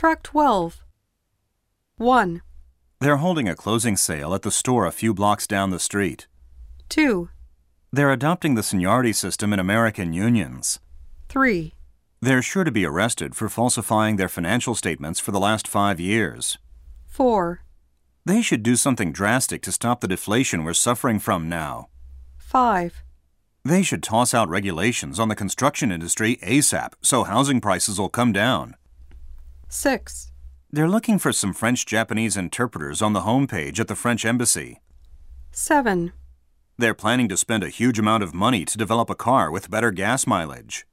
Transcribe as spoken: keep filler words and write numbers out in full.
Track twelve. one, They're holding a closing sale at the store a few blocks down the street. two, They're adopting the seniority system in American unions. three, They're sure to be arrested for falsifying their financial statements for the last five years. four, They should do something drastic to stop the deflation we're suffering from now. five, They should toss out regulations on the construction industry ASAP so housing prices will come down. six, They're looking for some French-Japanese interpreters on the homepage at the French embassy. seven, They're planning to spend a huge amount of money to develop a car with better gas mileage.